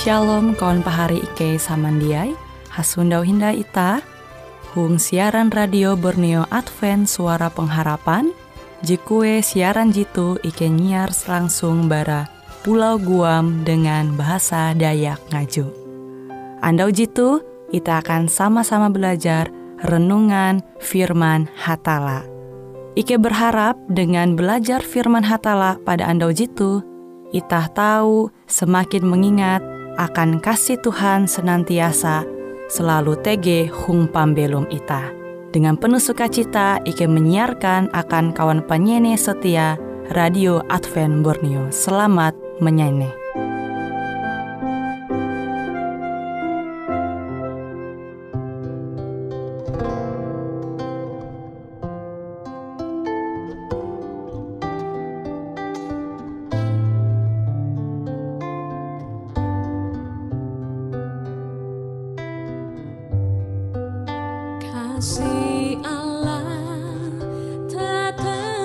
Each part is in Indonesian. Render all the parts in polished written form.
Shalom kawan pahari Ike samandiai, hasundau hinda ita, hung siaran radio Borneo Advent Suara Pengharapan, jikue siaran jitu Ike nyiar langsung bara Pulau Guam dengan bahasa Dayak Ngaju. Andau jitu, kita akan sama-sama belajar renungan firman Hatala. Ike berharap dengan belajar firman Hatala pada andau jitu, itah tahu semakin mengingat akan kasih Tuhan senantiasa selalu tege hung pambelum itah. Dengan penuh sukacita Ike menyiarkan akan kawan penyanyi setia Radio Advent Borneo. Selamat menyanyi. Kasih Allah tak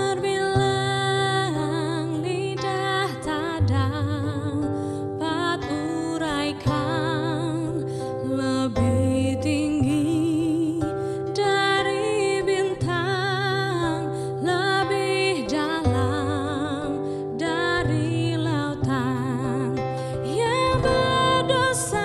terbilang, lidah tak dapat uraikan, lebih tinggi dari bintang, lebih dalam dari lautan. Yang berdosa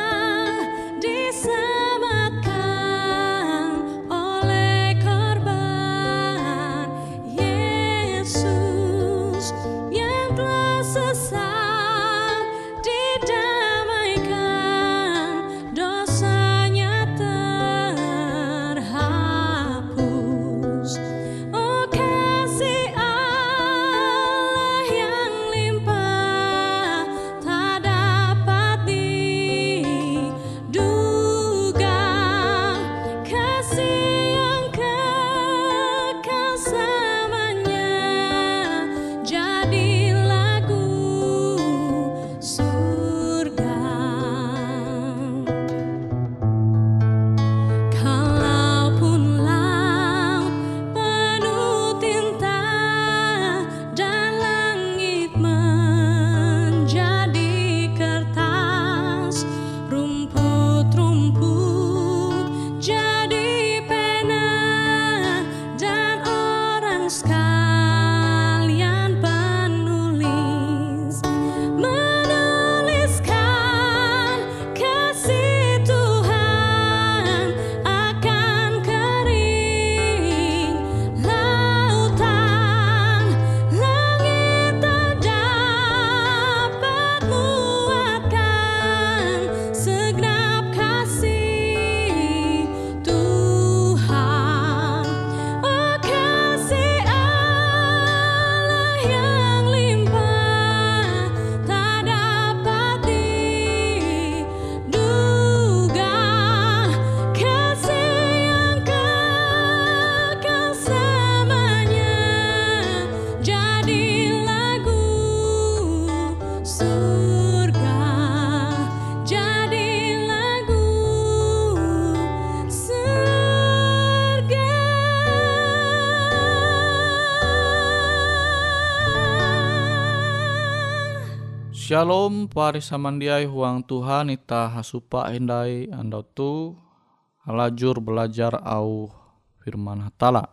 Shalom pari samandiai huang Tuhan ita hasupa hindai andau tu halajur belajar au firman Hatala.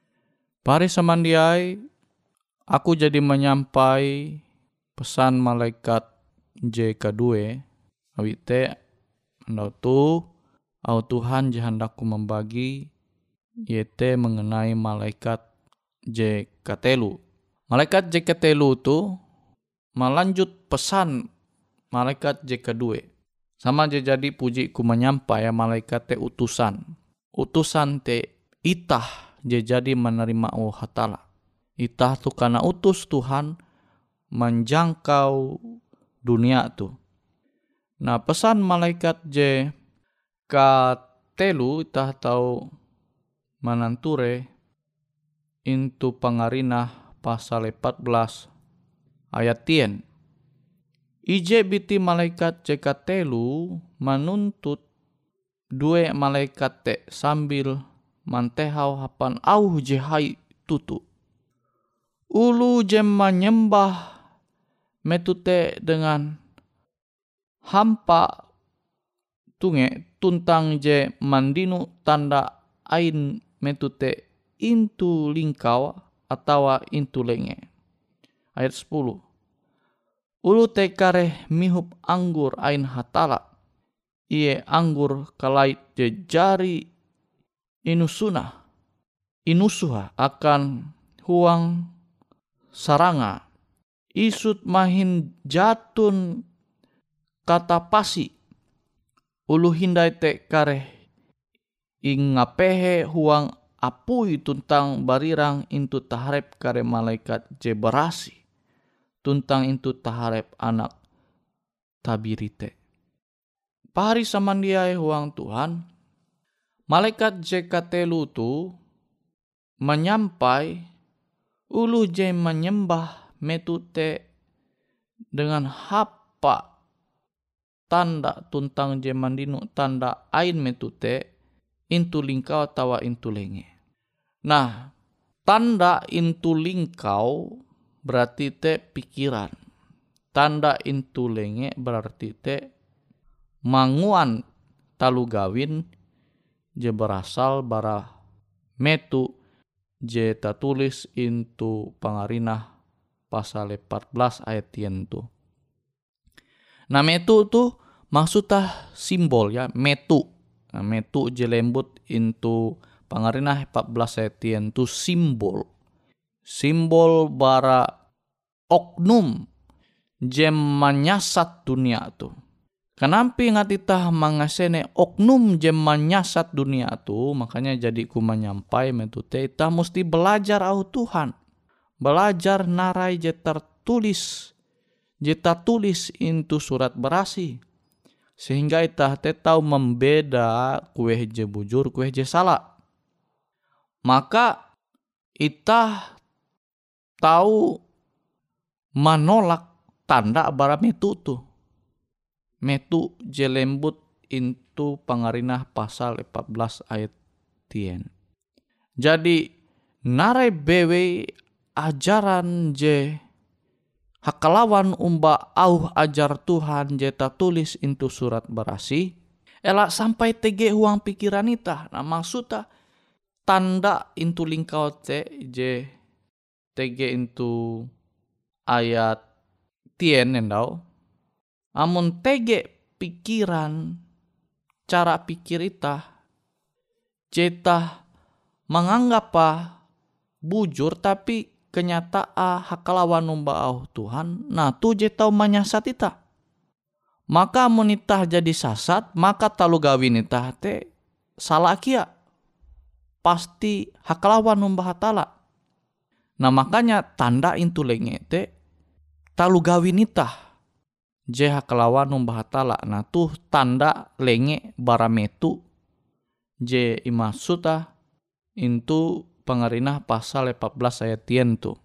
Pari samandiai aku jadi menyampai pesan malaikat J2 awite andau tu au Tuhan jahandaku membagi yaitu mengenai malaikat J3. Malaikat J3 tu melanjut pesan malaikat J2. Sama jadi puji ku menyampai ya malaikat te utusan. Utusan te itah jadi menerima Hatala. Itah tu karena utus Tuhan menjangkau dunia tu. Nah pesan malaikat J3 itah tahu mananture intu pangarinah pasal 14 ayat 10. Ije biti malaikat J3 menuntut dua malaikat te sambil mantehau hapan au jehai tutu. Ulu jem menyembah metute dengan hampa tunge tuntang je mandinu tanda ain metute intu lingkau atawa intu lenge. Ayat 10. Ulu te kareh mihup anggur ain hatala. Ie anggur kalait je jari inusuha akan huang saranga. Isut mahin jatun kata pasi. Ulu hindai te kareh ingapehe huang apui tuntang barirang intu taharep kare malaikat je berasi. Tuntang intu taharep anak tabirite. Pahari samandiai huang Tuhan. Malaikat je katelu tu menyampai ulu je menyembah metute dengan hapa tanda tuntang je mandinu tanda ain metute intu lingkau tawa intu lenge. Nah, tanda intu lingkau berarti te pikiran. Tanda intu lenge berarti te manguan talu gawin je berasal bara metu je tatulis intu Pangarinah pasal 14 ayat 10 tu. Nah, metu tu maksudnya simbol ya, metu. Nah, metu je lembut intu Pangarinah 14 ayat 10 tu simbol. Simbol bara oknum je menyasat dunia tu. Kenapa ngatitah mangasene oknum je menyasat dunia tu, makanya jadi ku menyampai metute ita mesti belajar au Tuhan. Belajar narai je tertulis, je tertulis intu surat berasi. Sehingga ita te tahu membeda kue je bujur, kue je salah. Maka ita tahu menolak tanda bara metu tu. Metu je lembut intu Pangarinah pasal 14 ayat 10. Jadi narai bewe ajaran je hakalawan umba au ajar Tuhan je tulis intu surat berasi elak sampai tege huang pikiran ita. Nah, maksudnya tanda intu lingkau te je tege intu ayat 10 endau. Amun tege pikiran cara pikir ita jeta menganggap bujur tapi kenyataan hakalawan umba au Tuhan. Nah, tu je tau menyasat ita. Maka amun ita jadi sasat, maka talu gawin ita te salah kia. Pasti hakalawan umba hatala. Nah, makanya tanda intu lenge te talu gawin ita je hakalawan umba hatala. Nah, tuh tanda lenge bara metu je imasuta intu Pangarinah pasal 14 ayat 10 tu.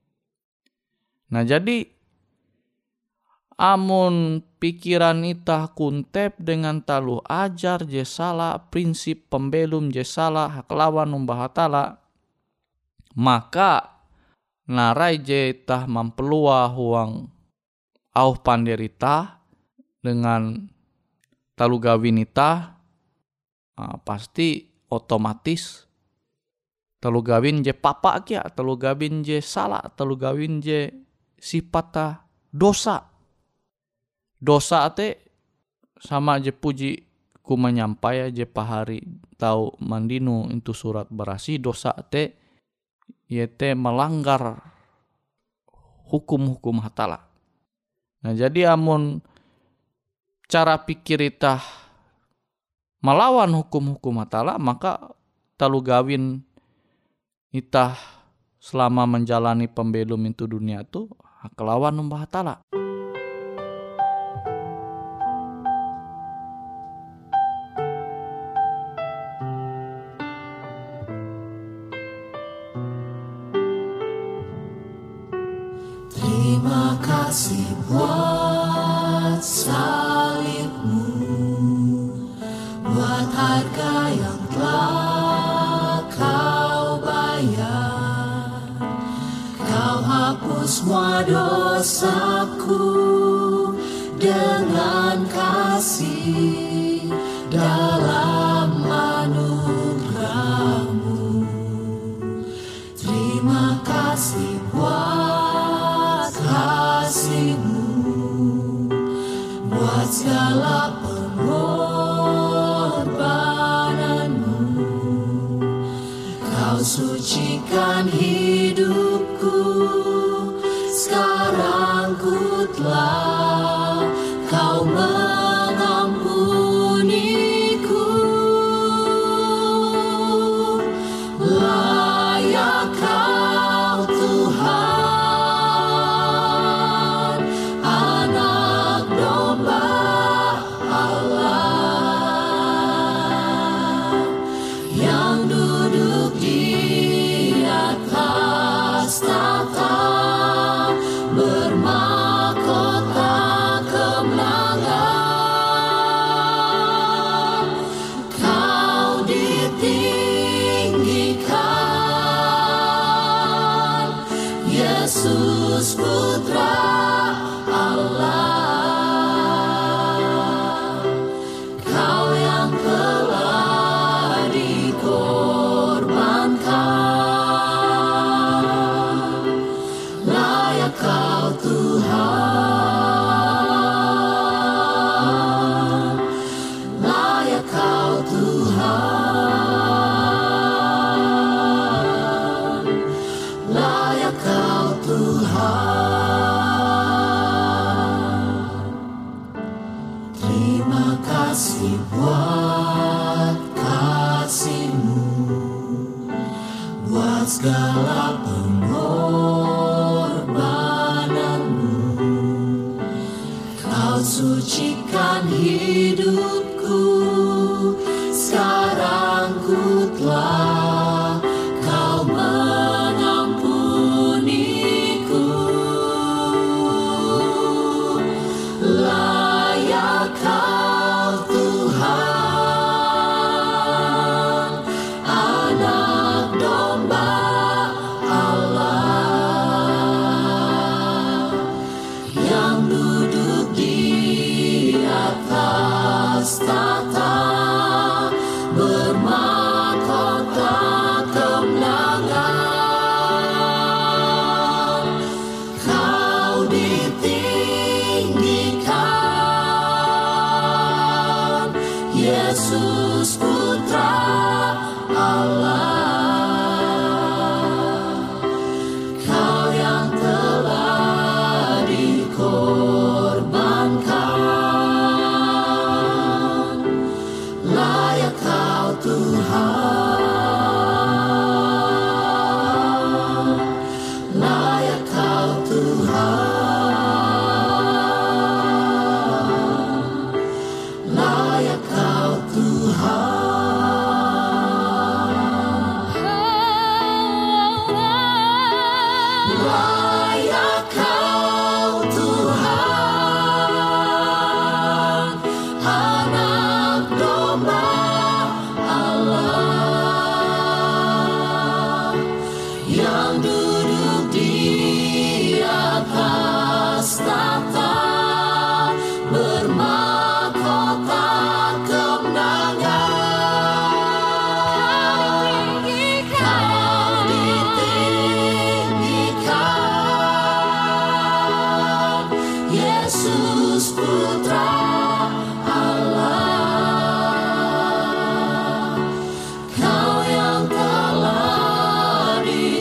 Nah, jadi amun pikiran ita kuntep dengan talu ajar je salah, prinsip pembelum je salah, hakalawan umba hatala, maka narai je ita mampelua huang au panderita dengan talu gawin ita, pasti otomatis talu gawin je papa kia, talu gawin je salah, talu gawin je sifat dosa. Dosa te sama je puji ku menyampai je pahari tau mandinu itu surat berasi. Dosa te yete melanggar hukum-hukum hatala. Nah, jadi amun cara pikir ita melawan hukum-hukum hatala, maka talu gawin ita selama menjalani pembelum itu dunia tu kelawan umba hatala. Terima kasih buat salibmu, buat harga yang telah kau bayar. Kau hapus semua dosaku dengan kasih dalam anugerah-Mu. Terima kasih buat kasih-Mu, buat segala pengorbanan-Mu. Kau sucikan hidupku, sekarang ku telah Kau mengampuniku. Layak Kau Tuhan, Anak Domba Allah, yang duduk di atas tahta, bermahkota kemenangan. Kau ditinggikan, Yesus Putra Allah. Kau yang telah dikorbankan, layak Kau Tuhan, layak Kau Tuhan, layak Kau Tuhan. Terima kasih buat kasih-Mu, buat segala pengorbanan-Mu. Kau sucikan hidupku, sekarang ku telah Kau mengampuniku. Layak Kau Tuhan, Anak Domba Allah, yang duduk di atas tahta, bermahkota kemenangan. Kau ditinggikan, Yesus Putra Allah. Kau yang telah dikorbankan, layak Kau Tuhan, layak Kau Tuhan, layak Kau Tuhan. Layak Kau Tuhan, Anak Domba Allah, yang duduk di atas tahta, bermahkota kemenangan. Kau ditinggikan, Yesus Putra Allah. Kau yang telah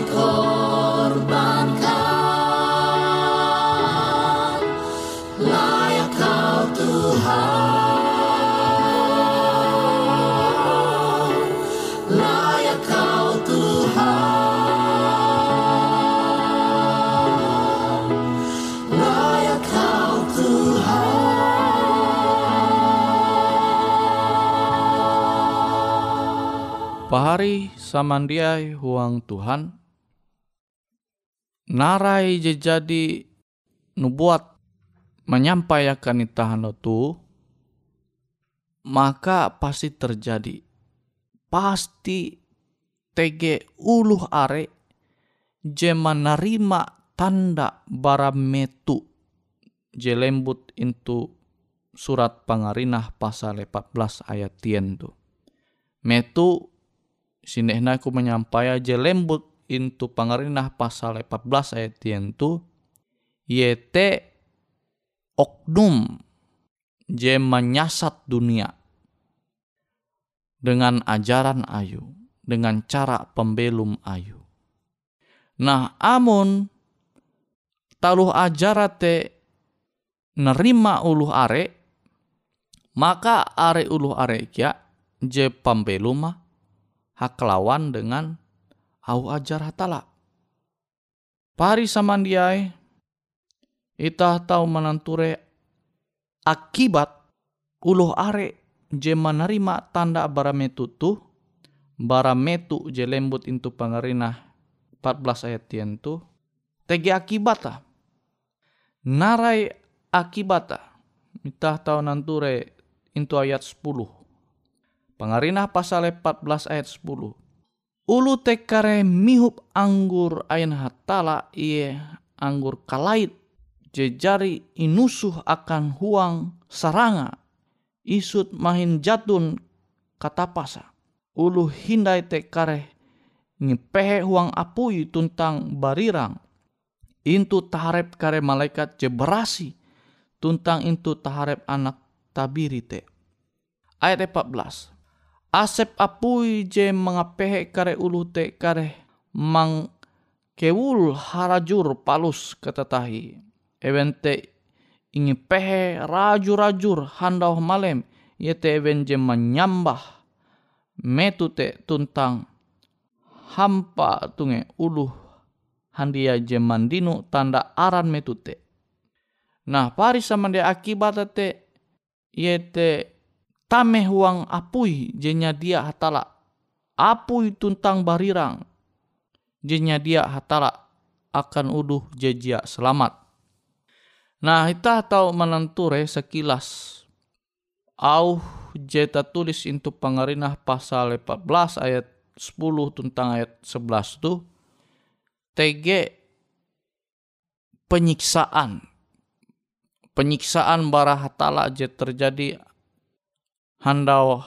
dikorbankan, layak Kau Tuhan, layak Kau Tuhan, layak Kau Tuhan. Pahari samandiai huang Tuhan, narai je jadi nubuat menyampaikan itahan tu, maka pasti terjadi. Pasti tege uluh are je menerima tanda bara metu je lembut into surat pangarinah pasal 14 ayat 10 tu. Metu sinehna ku menyampaikan je lembut into pangarinah pasal 14 ayat 10 tu yete oknum je menyasat dunia dengan ajaran ayu, dengan cara pembelum ayu. Nah, amun taluh ajara te nerima uluh are, maka are uluh are kia je pembelum haklawan dengan au ajar hatala. Pari samandiai itah tahu menanture akibat uluh are je menerima tanda barametu tu, barametu je lembut into pangarinah 14 ayat 10 tu tege akibata. Narai akibata. Itah tahu nanture into ayat 10. Pangarinah pasal 14 ayat 10. Ulu tekare mihup anggur ain hatala iye anggur kalait jejari inusuh akan huang saranga isut mahin jatun katapasa. Ulu hindai tekare ngepehe huang apui tuntang barirang intu taharep kare malaikat je berasi tuntang intu taharep anak tabiri te. Ayat 14. Asep apui je mengapehe kare ulu te kare mang kewul harajur palus ketetahi. Evente ingi pehe rajur-rajur handau malem yete even je menyambah metu te tuntang hampa tunge uluh handia je mandinu tanda aran metu te. Nah, pari samande akibat te yete tame huang apui jenya dia hatala. Apui tuntang barirang jenya dia hatala akan uluh jejia selamat. Nah, kita tahu menenture sekilas au jeta tulis into pangarinah pasal 14 ayat 10 tentang ayat 11 tu tege penyiksaan bara hatala je terjadi handau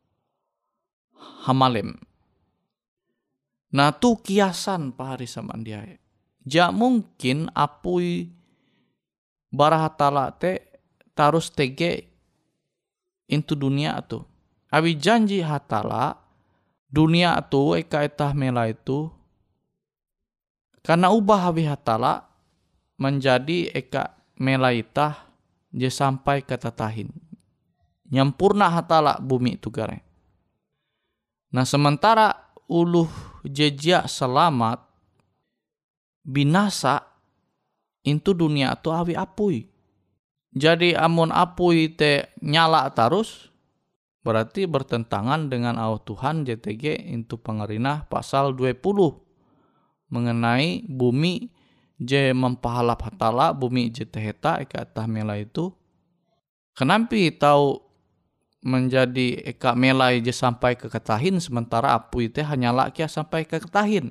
hamalem. Nah, tu kiasan pahari samandiai. Ja mungkin apui bara hatala te tarus tege into dunia tu. Abi janji hatala dunia tu eka etah mela itu karena ubah abi hatala menjadi eka mela itah je sampai ketatahin. Nyampurna hatala bumi itu gare. Nah, sementara uluh jejak selamat binasa into dunia tu awi apui. Jadi amun apui te nyala terus berarti bertentangan dengan au Tuhan JTG into pangarinah pasal 20 mengenai bumi je mempahalap hatala bumi je teheta eka tah mela itu. Kenampi tahu menjadi eka melai je sampai ke ketahin sementara apui teh hanyala kia sampai ke ketahin.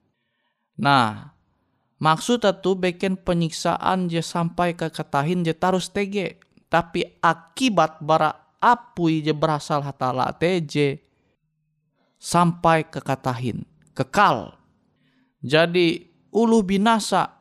Nah, maksud itu bikin penyiksaan je sampai ke ketahin je tarus tege. Tapi akibat bara apui je berasal hatala teje sampai ke katahin, kekal. Jadi ulu binasa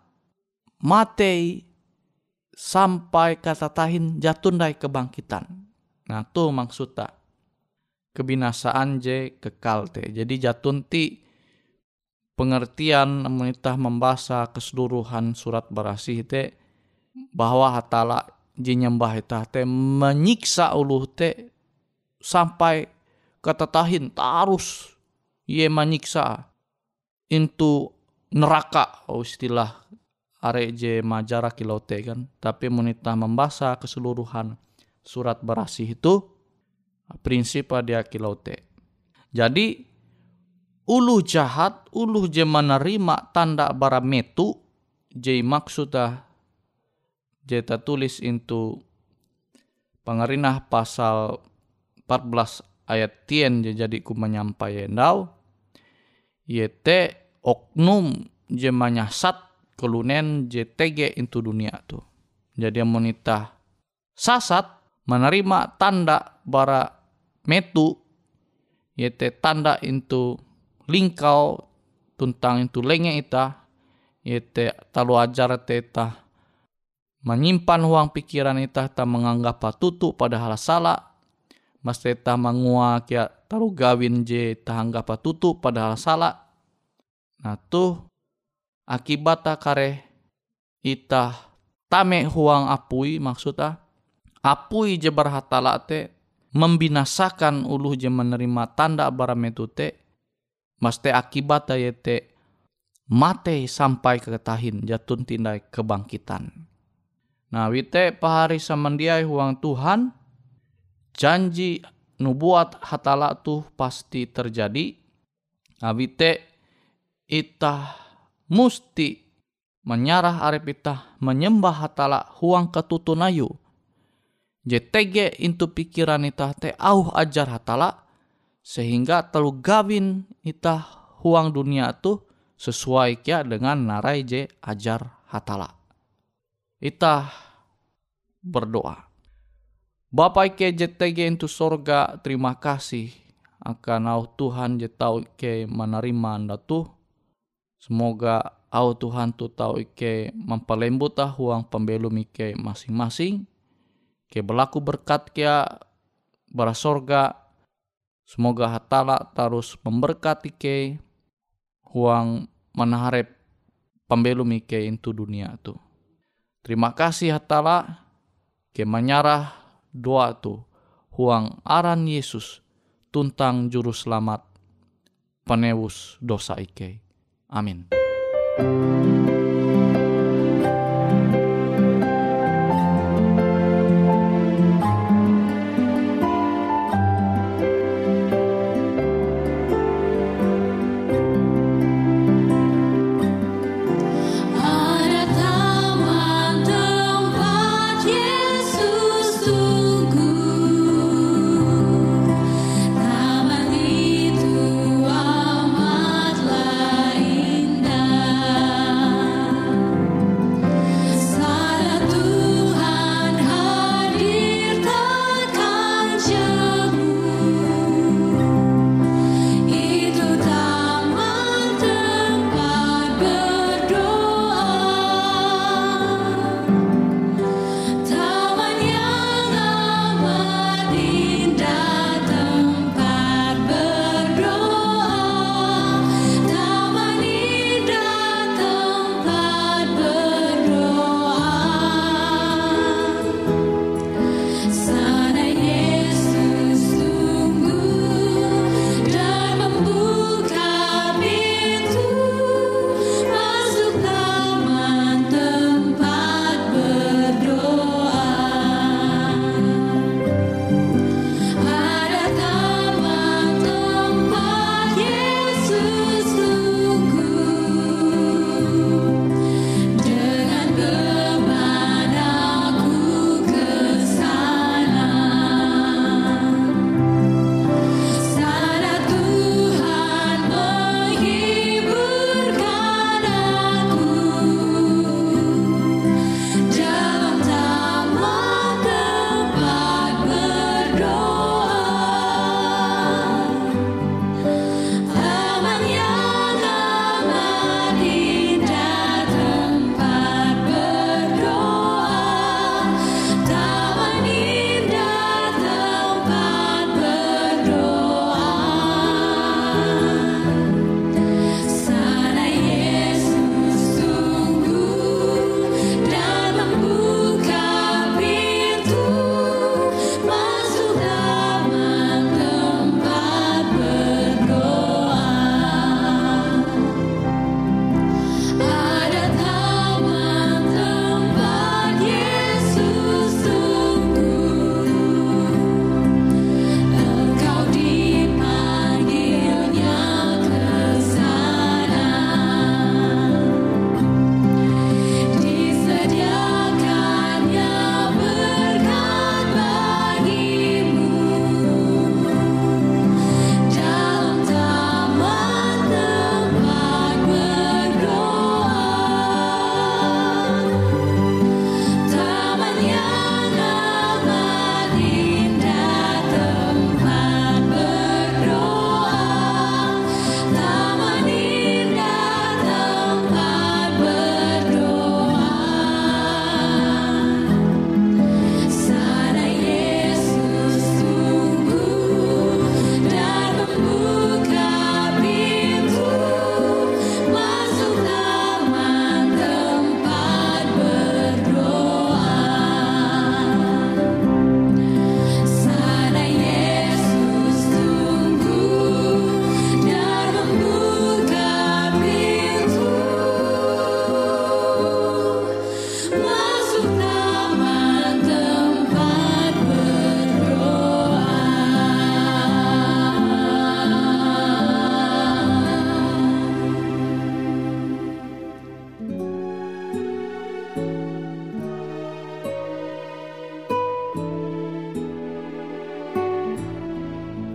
matei sampai katatahin jatundai kebangkitan. Nah, tu maksudnya kebinasaan je kekal te. Jadi jatun ti pengertian menitah membaca keseluruhan surat berasih te bahwa hatala je nyembah itah te menyiksa uluh te sampai katatahin tarus ye menyiksa into neraka istilah are je majara kilau te kan. Tapi menitah membaca keseluruhan surat berasih itu prinsip dia kilau te. Jadi uluh jahat, uluh je menerima tanda bara metu je maksudnya je tulis into pangarinah pasal 14 ayat 10 je jadi ku menyampaikan dau yete oknum je menyasat kelunen je tege into dunia tu. Jadi amun itah sasat menerima tanda bara metu, yaitu tanda itu lingkau tuntang itu lenge itah, yaitu talu ajar itah menyimpan huang pikiran itah ta menganggap patutu padahal salah. Mas itah mangua kia talu gawin je itah anggap patutu padahal salah. Nah tuh akibatnya kare itah tame huang apui, maksudnya apui je berhatala te membinasakan uluh je menerima tanda bara metu te, mas te akibatnya yete mate sampai ketahin jatun tindai kebangkitan. Nah wite pahari samandiai huang Tuhan, janji nubuat hatala tuh pasti terjadi. Nah wite itah musti menyarah arep itah menyembah hatala huang ketutunayu. JTG into pikiran itah te auh ajar hatala, sehingga telu gawin itah huang dunia tu sesuai kia dengan narai je ajar hatala. Itah berdoa. Bapa ike JTG into sorga, terima kasih akan au Tuhan je tau ike menerima anda tuh. Semoga au Tuhan tu tau ike mempelembut huang pembelum ike masing-masing. Ke berlaku berkat kia bara sorga. Semoga hatala terus memberkati ke huang menaharep pembelum ike into dunia tu. Terima kasih hatala ke menyarah doa tu huang aran Yesus tuntang juru selamat penebus dosa ike. Amin. Indah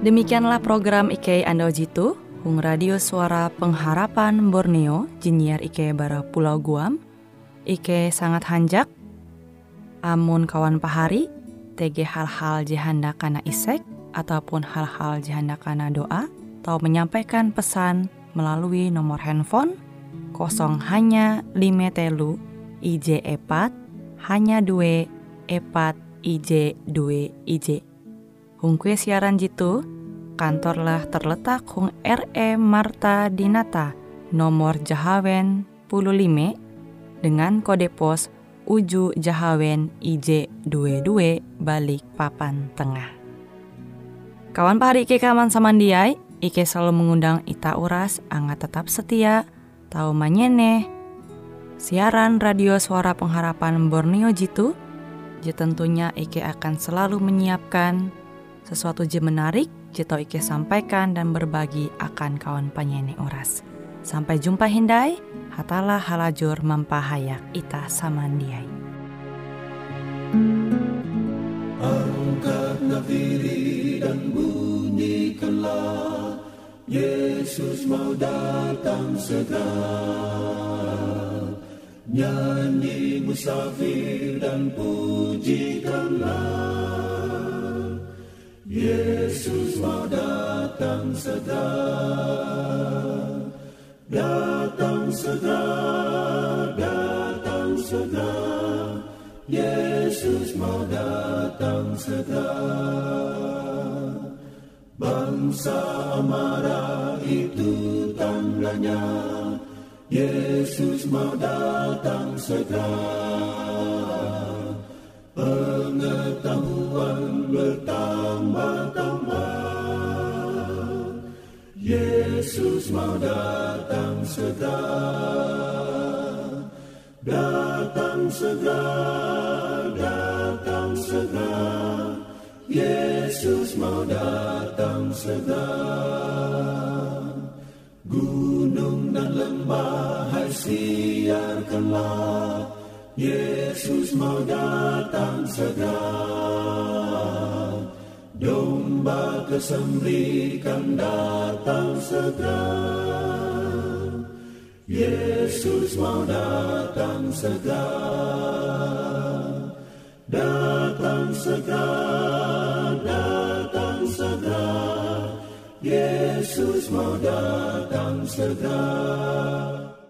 Demikianlah program Ike Ando Jitu, Hung Radio Suara Pengharapan Borneo, Jinnyar Ike bara Pulau Guam. Ike sangat hanjak, amun kawan pahari, TG hal-hal jihanda kana isek, ataupun hal-hal jihanda kana doa, atau menyampaikan pesan melalui nomor handphone 0 hanya 5 telu IJ 4 hanya 2 4 IJ 2 IJ. Hung kue siaran jitu, kantorlah terletak Hung RE Marta Dinata, nomor Jahawen 15, dengan kode pos Uju Jahawen IJ 22 balik Papan Tengah. Kawan pahari Ike kaman samandiai, Ike selalu mengundang ita uras, angga tetap setia, tau manyene, siaran radio Suara Pengharapan Borneo jitu, tentunya Ike akan selalu menyiapkan sesuatu je menarik, jito Ike sampaikan dan berbagi akan kawan penyanyi oras. Sampai jumpa hindai, hatalah halajur mampahayak ita samandiai. Angkat nafiri dan bunyikanlah, Yesus mau datang segera. Nyanyi musafir dan pujikanlah, Yesus mau datang segera, datang segera, datang segera. Yesus mau datang segera. Bangsa marah itu tandanya, Yesus mau datang segera. Pengetahuan bertambah-tambah, Yesus mau datang segera. Datang segera, datang segera, Yesus mau datang segera. Gunung dan lembah hai siarkanlah, Yesus mau datang segera. Domba kesembelihan datang segera, Yesus mau datang segera. Datang segera, datang segera, Yesus mau datang segera.